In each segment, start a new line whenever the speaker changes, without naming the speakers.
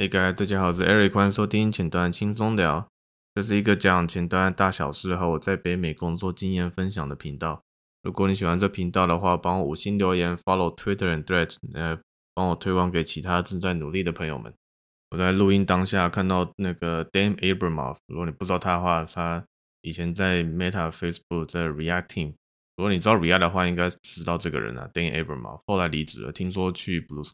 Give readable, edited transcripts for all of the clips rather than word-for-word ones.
Hey guys，大家好，我是 Eric，歡迎收聽前端輕鬆聊。這是一個講前端大小事和我在北美工作經驗分享的頻道。如果你喜歡這頻道的話，幫我5星留言 ，follow Twitter and Threads，幫我推廣給其他正在努力的朋友們。我在錄音當下看到那個 Dan Abramov， 如果你不知道他的話，他以前在 Meta、Facebook 在 React Team。如果你知道 React 的話，應該知道這個人啊 ，Dan Abramov， 後來離職了，聽說去 Blue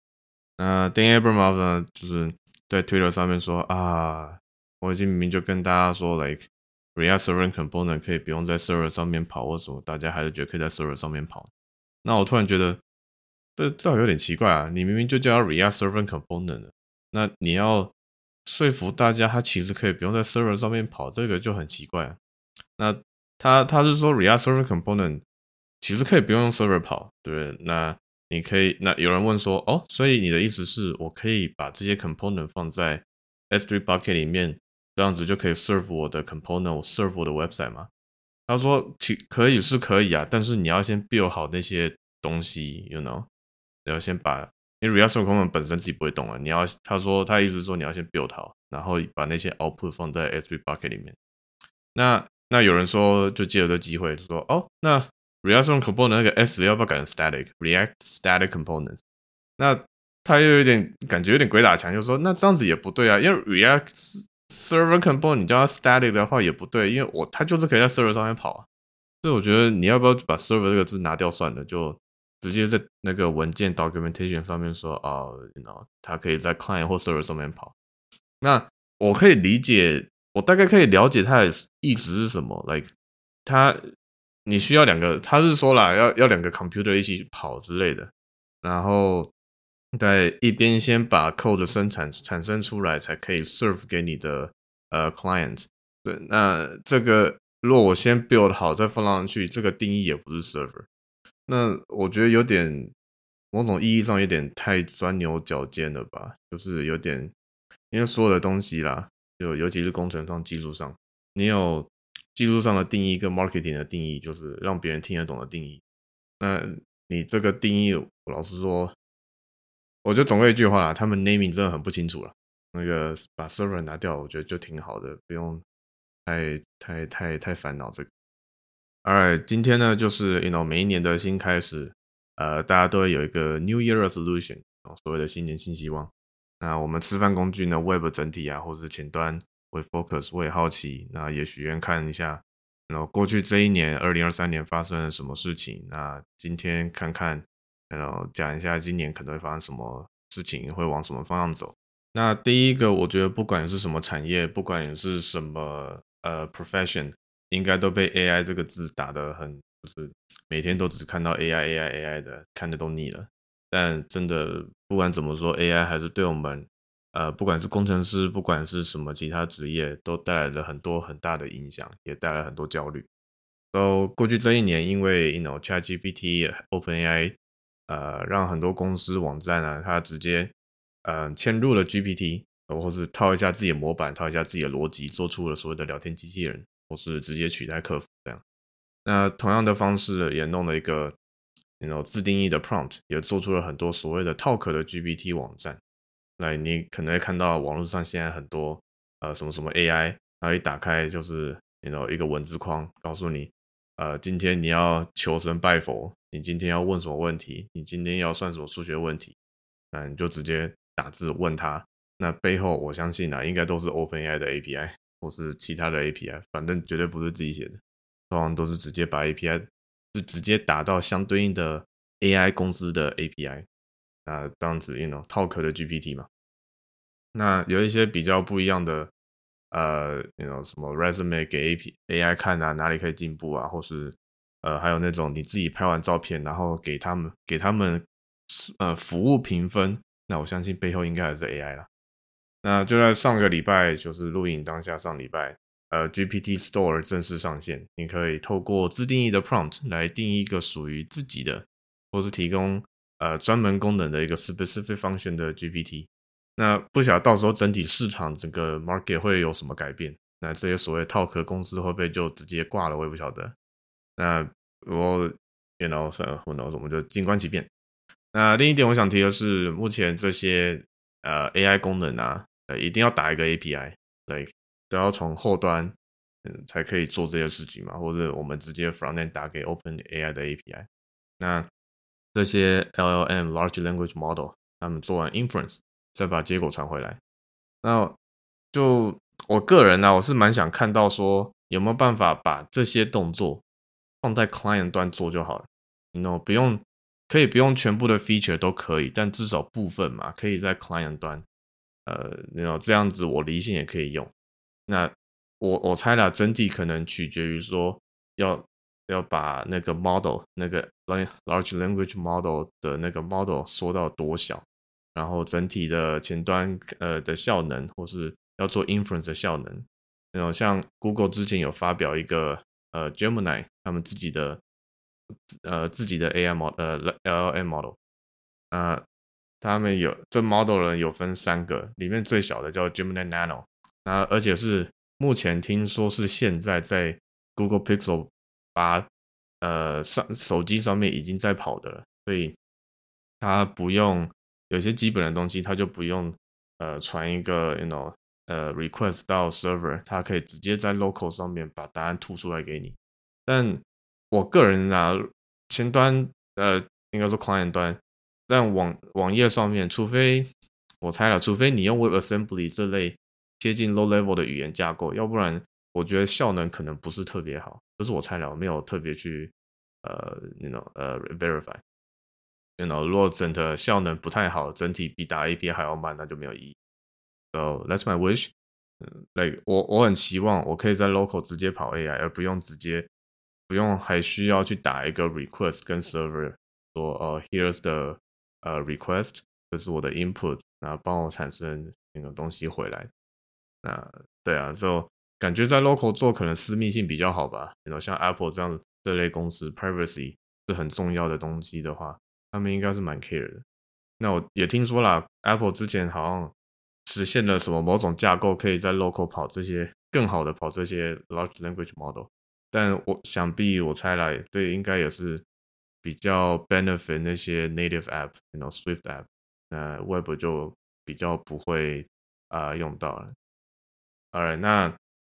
Sky。Dan Abramov 呢，就是在 Twitter 上面說啊，我已經明明就跟大家說 ，like React Server Component 可以不用在 Server 上面跑，為什麼大家還是覺得可以在 Server 上面跑？那我突然覺得，這倒有點奇怪啊！你明明就叫 React Server Component 了，那你要說服大家，它其實可以不用在 Server 上面跑，這個就很奇怪啊。那他是說 React Server Component 其實可以不用用 Server 跑，對不對？那你可以，那有人問說，哦，所以你的意思是我可以把這些 component 放在 S3 bucket 裡面，這樣子就可以 serve 我的 component， serve 我的 website 嗎？他說可以是可以啊，但是你要先 build 好那些東西 ，you know， 你要先把，因為 React Server Component 本身自己不會動啊，他說他意思是說你要先 build 好，然後把那些 output 放在 S3 bucket 裡面。那有人說就借着這機會說，哦，那React Server Component 那個 S 要不要改成 Static？React Static Components？ 那他又有點感覺有點鬼打牆，就說那這樣子也不對啊，因為 React Server Component 你叫它 Static 的話也不對，因為它就是可以在 Server 上面跑啊。所以我覺得你要不要把 Server 這個字拿掉算了，就直接在那個文件 Documentation 上面說啊，you know，它可以在 Client 或 Server 上面跑。那我可以理解，我大概可以了解它的意思是什麼 ，like 你需要他是說啦，要兩個 computer 一起跑之類的，然後在一邊先把 code 產生出來，才可以 serve 給你的client。對，那這個如果我先 build 好再放上去，這個定義也不是 server。那我覺得有點某種意義上有點太鑽牛角尖了吧，就是有點，因為所有的東西啦，就尤其是工程上、技術上，你有技術上的定義跟 marketing 的定義，就是讓別人聽得懂的定義。那你這個定義，我老實說，我就總歸一句話啦，他們 naming 真的很不清楚了。那個把 server 拿掉，我覺得就挺好的，不用太煩惱這個。Alright， 今天呢就是 每一年的新開始，大家都會有一個 New Year Resolution，所謂的新年新希望。那我們吃飯工具呢 ，Web 整體啊，或是前端。會 focus， 我也好奇，那也許願看一下，然後過去這一年2023年發生了什麼事情。那今天看看，然後講一下今年可能會發生什麼事情，會往什麼方向走。那第一個，我覺得不管是什麼產業，不管你是什麼profession， 應該都被 AI 這個字打得很，就是每天都只看到 AI 的，看得都膩了。但真的不管怎麼說，AI 還是對我們。不管是工程師，不管是什麼其他職業，都帶來了很多很大的影響，也帶來很多焦慮。過去這一年，因為ChatGPT、OpenAI，讓很多公司網站啊，它直接嵌入了 GPT，或是套一下自己的模板，套一下自己的邏輯，做出了所謂的聊天機器人，或是直接取代客服這樣。那同樣的方式也弄了一個自定義的 prompt， 也做出了很多所謂的套殼的 GPT 網站。來，你可能會看到網絡上現在很多什麼什麼 AI，然後一打開就是一個文字框，告訴你今天你要求神拜佛，你今天要問什麼問題，你今天要算什麼數學問題，那你就直接打字問他。那背後我相信應該都是 OpenAI 的 API 或是其他的 API， 反正絕對不是自己寫的，通常都是直接把 API 是直接打到相對應的 AI 公司的 API。這樣子套殼的 GPT 嘛，那有一些比較不一樣的什麼 resume 給 AI 看啊，哪裡可以進步啊，或是還有那種你自己拍完照片，然後給他們服務評分，那我相信背後應該還是 AI 啦。那就在上個禮拜，就是錄影當下上禮拜GPT Store 正式上線，你可以透過自定義的 prompt 來定義一個屬於自己的，或是提供專門功能的一個 specific function 的 GPT。那不曉得到時候整體市場整個 market 會有什麼改變，那這些所謂套殼公司會不會就直接掛了，我也不曉得。那我 who knows， 我們就靜觀其變。那另一點我想提的是，目前這些 AI 功能啊，一定要打一個 API， 都要從後端才可以做這些事情嘛，或者我們直接 frontend 打給 OpenAI 的 API。那這些 LLM Large Language Model， 他們做完 inference， 再把結果傳回來。那就我個人呢，我是蠻想看到說有沒有辦法把這些動作放在 client 端做就好了。可以不用全部的 feature 都可以，但至少部分嘛，可以在 client 端，這樣子我離線也可以用。那我猜啦，整體可能取決於說要把那個 model 那個 large language model 的那個 model 縮到多小，然後整體的前端的效能，或是要做 inference 的效能，像 Google 之前有發表一個Gemini 他們自己的 AI LLM model， 他們这 model 有分3個，裡面最小的叫 Gemini Nano， 而且是目前聽說是現在在 Google Pixel 8手機上面已經在跑的了，所以它不用有些基本的東西，它就不用傳一個request 到 server， 它可以直接在 local 上面把答案吐出來給你。但我個人前端應該說 client 端，但網頁上面，除非我猜了，除非你用 WebAssembly 這類貼近 low level 的語言架構，要不然我覺得效能可能不是特別好。這是我猜了，我沒有特別去verify。如果整個效能不太好，整體比打 API 還要慢，那就沒有意義。So that's my wish。我很希望我可以在 local 直接跑 AI， 而不用還需要去打一個 request 跟 server 說here's the request， 這是我的 input， 然後幫我產生那個東西回來。那對啊，就感覺在 local 做可能私密性比較好吧。像 Apple 這類公司 privacy 是很重要的東西的話，他們應該是蠻 care 的。那我也聽說啦 Apple 之前好像實現了什麼某種架構，可以在 local 跑這些更好的跑這些 large language model。但我猜來，對，應該也是比較 benefit 那些 native app，Swift app， 那 Web 就比較不會用到了。Alright， 那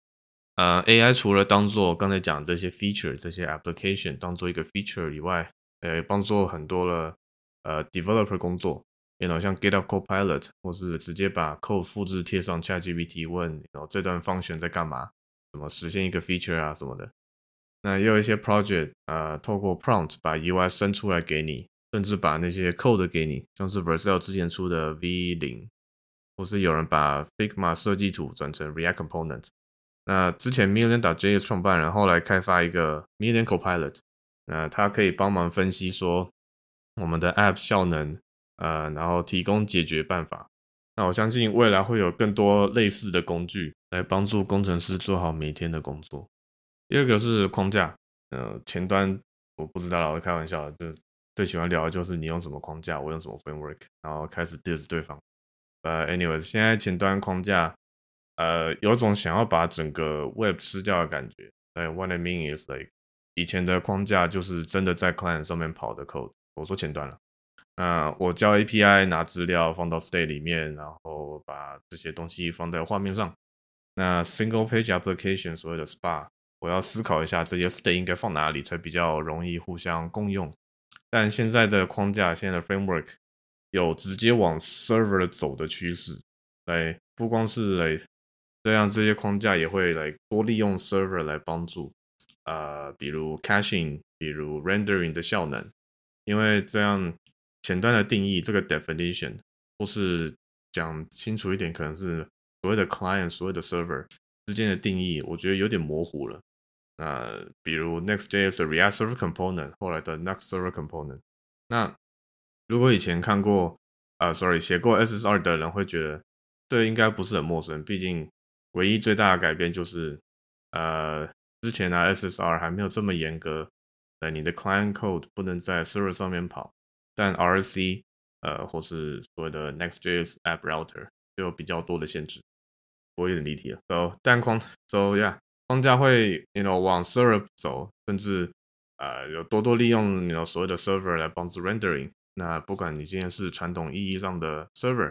AI 除了當做剛才講這些 feature 這些 application 當做一個 feature 以外，幫助很多的developer 工作，像 GitHub Copilot 或是直接把 code 複製貼上 ChatGPT 問，這段 function 在幹嘛，怎麼實現一個 feature 啊什麼的。那也有一些 project 透過 prompt 把 UI 生出來給你，甚至把那些 code 給你，像是 Vercel 之前出的 V0， 或是有人把 Figma 設計圖轉成 React Component。那之前 Million.js 創辦人後來開發一個 Million Copilot， 那它可以幫忙分析說我們的 app 效能，然後提供解決辦法。那我相信未來會有更多類似的工具來幫助工程師做好每一天的工作。第二個是框架，前端我不知道啦，我開玩笑，就最喜歡聊的就是你用什麼框架，我用什麼 framework， 然後開始 diss 對方。anyways， 現在前端框架，有種想要把整個 web 吃掉的感覺。What I mean is like 以前的框架就是真的在 client 上面跑的 code， 我說前端了。我叫 API 拿資料放到 state 裡面，然後把這些東西放在畫面上。那 single page application 所謂的 SPA， 我要思考一下這些 state 應該放哪裡才比較容易互相共用。但現在的框架，現在的 framework 有直接往 server 走的趨勢。不光是這樣，這些框架也會多利用 server 來幫助，比如 caching， 比如 rendering 的效能。因為這樣前端的定義這個 definition， 或是講清楚一點，可能是所謂的 client， 所謂的 server 之間的定義，我覺得有點模糊了。比如 Next.js 的 React Server Component， 後來的 Next Server Component。那如果以前看過寫過 SSR 的人會覺得這應該不是很陌生，畢竟唯一最大的改變就是之前SSR 還沒有這麼嚴格，你的 client code 不能在 server 上面跑，但 RC 或是所謂的 Next.js App Router 就有比較多的限制。我有點離題了。框架會往 server 走，甚至有多利用所謂的 server 來幫助 rendering。那不管你今天是傳統意義上的 server，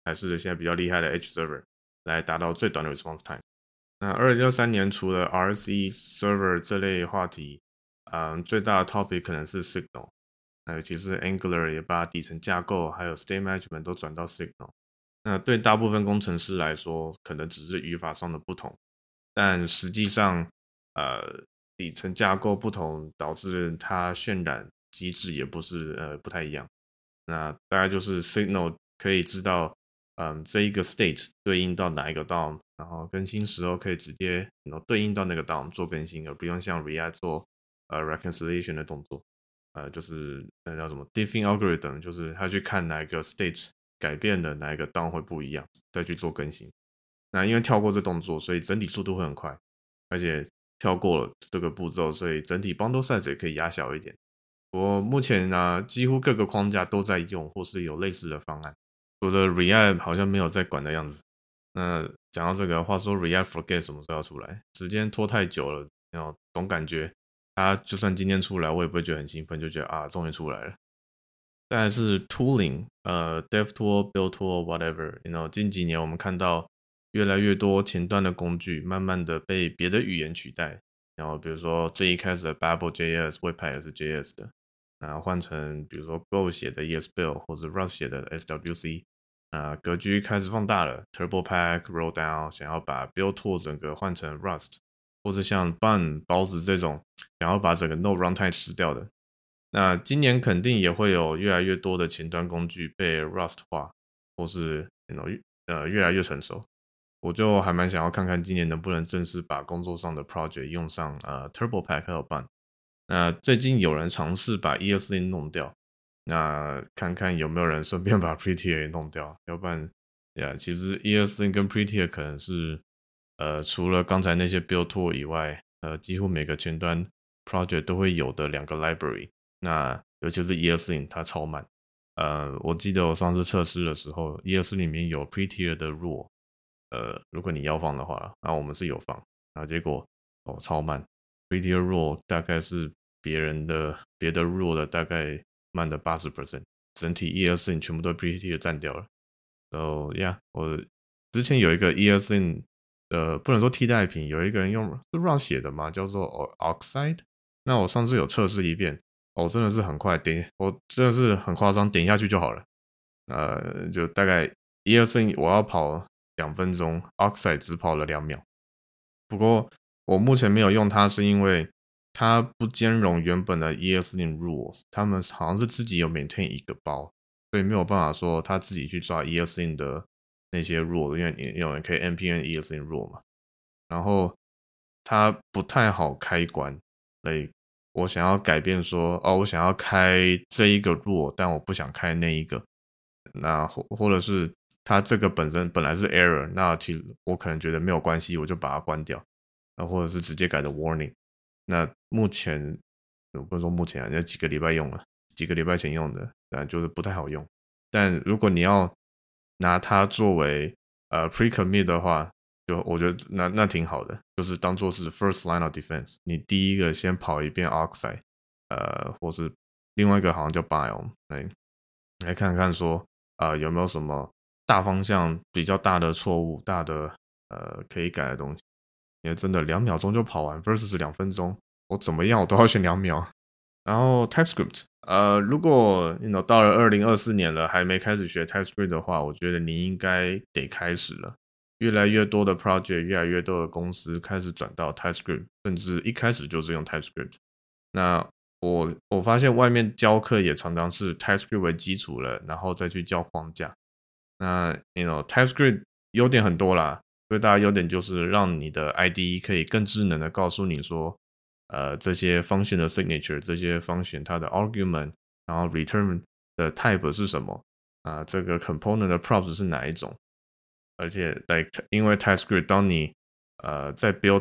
還是現在比較厲害的 Edge Server 來達到最短的 response time。那2023年除了 RC Server 這類話題，最大的 topic 可能是 Signal。那尤其是 Angular 也把底層架構還有 State Management 都轉到 Signal。那對大部分工程師來說，可能只是語法上的不同，但實際上，底層架構不同導致它渲染機制也不太一樣。那大概就是 Signal 可以知道，這一個 state 對應到哪一個 DOM， 然後更新時候可以直接對應到那個 DOM 做更新，而不用像 React 做reconciliation 的動作。就是那叫什麼 diffing algorithm， 就是他去看哪一個 state 改變了，哪一個 DOM 會不一樣，再去做更新。那因為跳過這動作，所以整體速度會很快，而且跳過了這個步驟，所以整體 bundle size 也可以壓小一點。我目前呢，幾乎各個框架都在用，或是有類似的方案，除了 React 好像沒有在管的樣子。那講到這個，話說 React Forget 什麼時候要出來？時間拖太久了，總感覺它就算今天出來，我也不會覺得很興奮，就覺得終於出來了。再來是 tooling， dev tool、build tool whatever，近幾年我們看到越來越多前端的工具慢慢的被別的語言取代，然後比如說最一開始的 Babel.js、Webpack 也是 JS 的，然後換成比如說 Go 寫的 ESBuild 或者 Rust 寫的 SWC，格局開始放大了 ，TurboPack、Roll Down 想要把 build tool 整個換成 Rust， 或者像 Bun 包子這種想要把整個 Node Runtime 吃掉的。那今年肯定也會有越來越多的前端工具被 Rust 化，或是越來越成熟。我就還蠻想要看看今年能不能正式把工作上的 project 用上TurboPack 還有 Bun。那最近有人嘗試把 ESLint 弄掉，那看看有沒有人順便把 Prettier 也弄掉，要不然其實 ESLint 跟 Prettier 可能是除了剛才那些 build tool 以外，幾乎每個前端 project 都會有的兩個 library。那尤其是 ESLint 它超慢，我記得我上次測試的時候 ESLint 裡面有 Prettier 的 rule，如果你要放的話，然後我們是有放，然後結果超慢 ，Prettier rule 大概是別的 rule 的大概慢的 80%， 整體 ESLint 全部都 Prettier 占掉了。So yeah， 我之前有一個 ESLint 不能說替代品，有一個人用是 Rust 寫的嘛，叫做 Oxide。那我上次有測試一遍，真的是很快，我真的是很誇張，點下去就好了。就大概ESLint我要跑2分鐘 ，Oxide 只跑了2秒。不過我目前沒有用它，是因為它不兼容原本的 ESLint rules， 他們好像是自己有 maintain 一個包，所以沒有辦法說他自己去抓 ESLint 的那些 rule， 因為有人可以 npm ESLint rule 嘛。然後它不太好開關，所以我想要改變說，我想要開這一個 rule， 但我不想開那一個，那或者是它這個本來是 error， 那其實我可能覺得沒有關係，我就把它關掉，或者是直接改的 warning。那目前我不是說目前啊，那幾個禮拜用了，幾個禮拜前用的，就是不太好用。但如果你要拿它作為pre-commit 的話，就我覺得那挺好的，就是當做是 first line of defense， 你第一個先跑一遍 Oxide， 或是另外一個好像叫 Biome， 來看看說有沒有什麼大方向比較大的錯誤，大的可以改的東西。因為真的2秒鐘就跑完 versus 2分鐘，我怎麼樣我都要選2秒。然後 TypeScript， 如果到了2024年了還沒開始學 TypeScript 的話，我覺得你應該得開始了。越來越多的 project， 越來越多的公司開始轉到 TypeScript， 甚至一開始就是用 TypeScript。那我發現外面教課也常常是 TypeScript 為基礎了，然後再去教框架。那TypeScript 優點很多啦，最大的優點就是讓你的 IDE 可以更智能的告訴你說，這些 function 的 signature， 這些 function 它的 argument， 然後 return 的 type 是什麼，這個 component 的 props 是哪一種。而且因為 TypeScript 當你在 build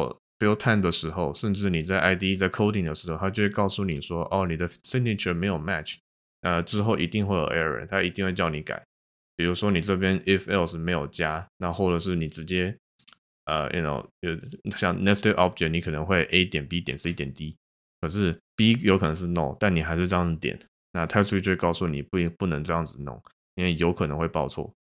time 的時候，甚至你在 IDE 在 coding 的時候，它就會告訴你說，你的 signature 沒有 match， 之後一定會有 error， 它一定會叫你改。比如說你這邊 if else 沒有加，那或者是你直接像 nested object， 你可能會 A 點 B 點 C 點 D， 可是 B 有可能是 no， 但你還是這樣點，那 TypeScript 就會告訴你不能這樣子弄，因為有可能會報錯。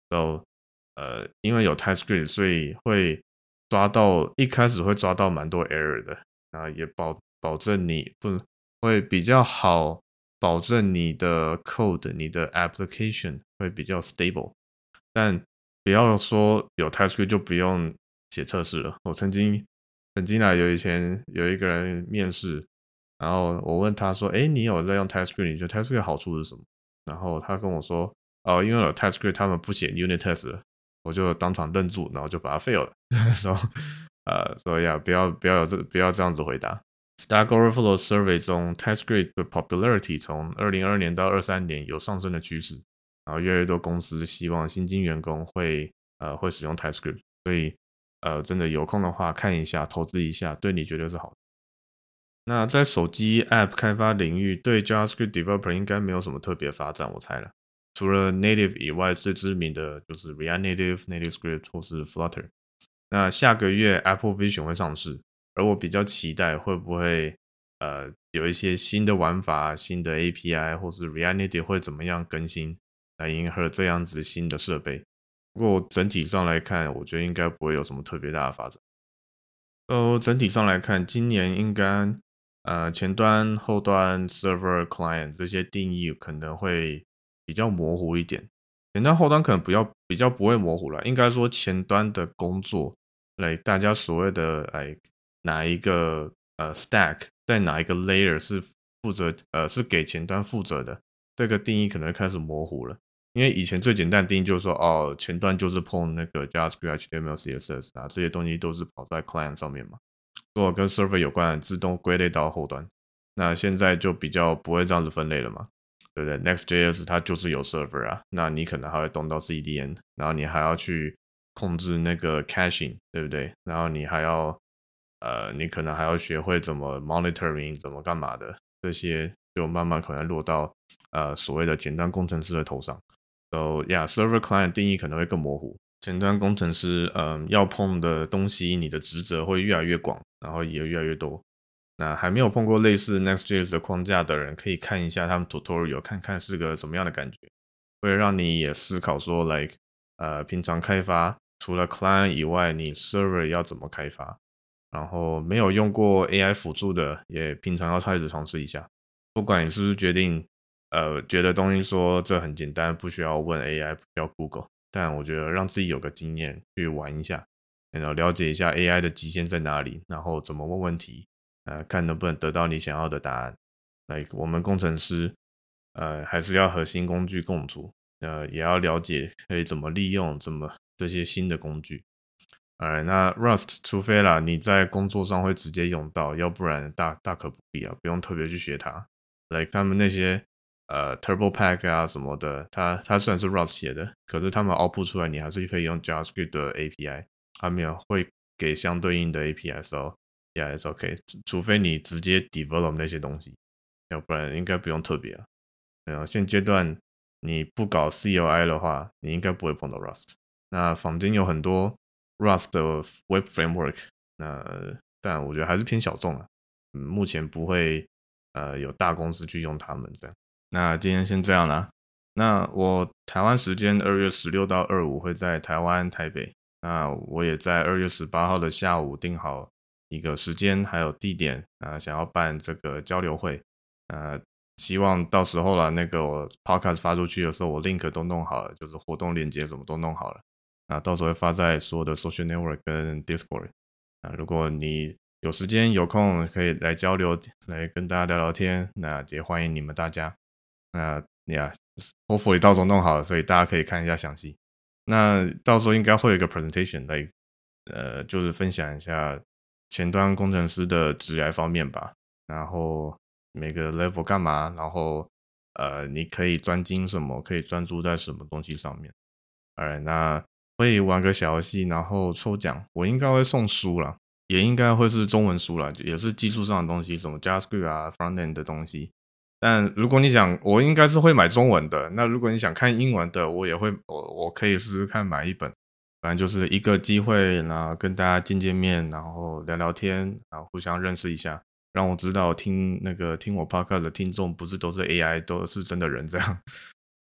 因為有 TypeScript，所以一開始會抓到蠻多 error 的，啊，也保證你不會比較好，保證你的 code、你的 application 會比較 stable。但不要說有 TypeScript 就不用寫測試了。我曾經以前有一個人面試，然後我問他說：“誒，你有在用 TypeScript？ 你覺得 TypeScript 的好處是什麼？”然後他跟我說：“哦，因為有 TypeScript， 他們不寫 unit test 了。”我就當場愣住，然後就把它 fail 了。所以不要這樣子回答。Stack Overflow Survey 中 TypeScript 的 popularity 從2022年到23年有上升的趨勢，然後越來越多公司希望新進員工會使用 TypeScript， 所以真的有空的話看一下，投資一下，對你絕對是好的。那在手機 App 開發領域，對 JavaScript Developer 應該沒有什麼特別發展，我猜了。除了 Native 以外，最知名的就是 React Native、NativeScript 或是 Flutter。那下個月 Apple Vision 會上市，而我比較期待會不會有一些新的玩法、新的 API 或是 React Native 會怎麼樣更新，來迎合這樣子新的設備。不過整體上來看，我覺得應該不會有什麼特別大的發展。整體上來看，今年應該前端、後端、Server、Client 這些定義可能會比較模糊一點，前端後端可能比較不會模糊了。應該說前端的工作，大家所謂的哪一個stack 在哪一個 layer 是負責是給前端負責的，這個定義可能開始模糊了。因為以前最簡單的定義就是說，前端就是碰那個 JavaScript、HTML、CSS 啊，這些東西都是跑在 client 上面嘛，所有跟 server 有關的自動歸類到後端。那現在就比較不會這樣子分類了嘛。對不對 ？Next.js 它就是有 server 啊，那你可能還會動到 CDN， 然後你還要去控制那個 caching， 對不對？然後你可能還要學會怎麼 monitoring， 怎麼幹嘛的，這些就慢慢可能落到所謂的前端工程師的頭上。So yeah，server client 定義可能會更模糊，前端工程師要碰的東西，你的職責會越來越廣，然後也越來越多。那還沒有碰過類似 Next.js 的框架的人，可以看一下他們 tutorial， 看看是個什麼樣的感覺，會讓你也思考說平常開發除了 client 以外，你 server 要怎麼開發？然後沒有用過 AI 輔助的，也平常要開始嘗試一下。不管你是不是決定覺得東西說這很簡單，不需要問 AI， 不需要 Google， 但我覺得讓自己有個經驗去玩一下，然後了解一下 AI 的極限在哪裡，然後怎麼問問題。看能不能得到你想要的答案。我們工程師，還是要和新工具共處，也要了解可以怎麼利用這些新的工具。那 Rust 除非啦你在工作上會直接用到，要不然大可不必啊，不用特別去學它。他們那些TurboPack 啊什麼的，它雖然是 Rust 寫的，可是他們 output 出來你還是可以用 JavaScript 的 API， 他們也會給相對應的 API 的時候。Yeah, it's okay. 除非你直接 develop 那些東西，要不然應該不用特別了。現階段你不搞 CLI 的話，你應該不會碰到 Rust。那坊間有很多 Rust 的 Web Framework， 但我覺得還是偏小眾了。目前不會有大公司去用它們這樣。那今天先這樣啦。那我台灣時間2月16到25會在台灣台北。那我也在2月18號的下午訂好一個時間還有地點想要辦這個交流會，希望到時候啦，那個我 podcast 發出去的時候，我 link 都弄好了，就是活動鏈接什麼都弄好了，到時候會發在所有的 social network 跟 Discord。如果你有時間有空可以來交流，來跟大家聊聊天，那也歡迎你們大家。hopefully 到時候弄好了，所以大家可以看一下詳細。那到時候應該會有一個 presentation 就是分享一下前端工程師的職涯方面吧，然後每個 level 幹嘛，然後你可以專精什麼，可以專注在什麼東西上面。那會玩個小遊戲，然後抽獎，我應該會送書啦，也應該會是中文書啦，也是技術上的東西，什麼 JavaScript 啊 Frontend 的東西。但如果你想，我應該是會買中文的，那如果你想看英文的，我也會，我可以試試看買一本。反正就是一個機會，然後跟大家見見面，然後聊聊天，然後互相認識一下，讓我知道聽我 podcast 的聽眾不是都是 AI， 都是真的人這樣。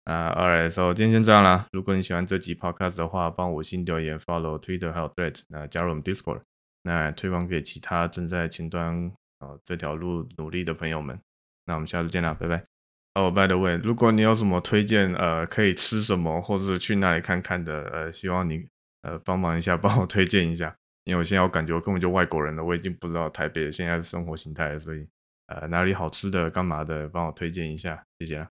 Alright, so 今天先這樣啦。如果你喜歡這集 podcast 的話，幫我5星留言 ，follow Twitter 還有 Threads，那加入我們 Discord，那推廣給其他正在前端這條路努力的朋友們。那我們下次見啦，拜拜。by the way， 如果你有什麼推薦可以吃什麼或是去哪裡看看的希望你幫忙一下，幫我推薦一下，因為我現在我感覺我根本就外國人了，我已經不知道台北的現在的生活形態了，所以哪裡好吃的幹嘛的幫我推薦一下，謝謝啦。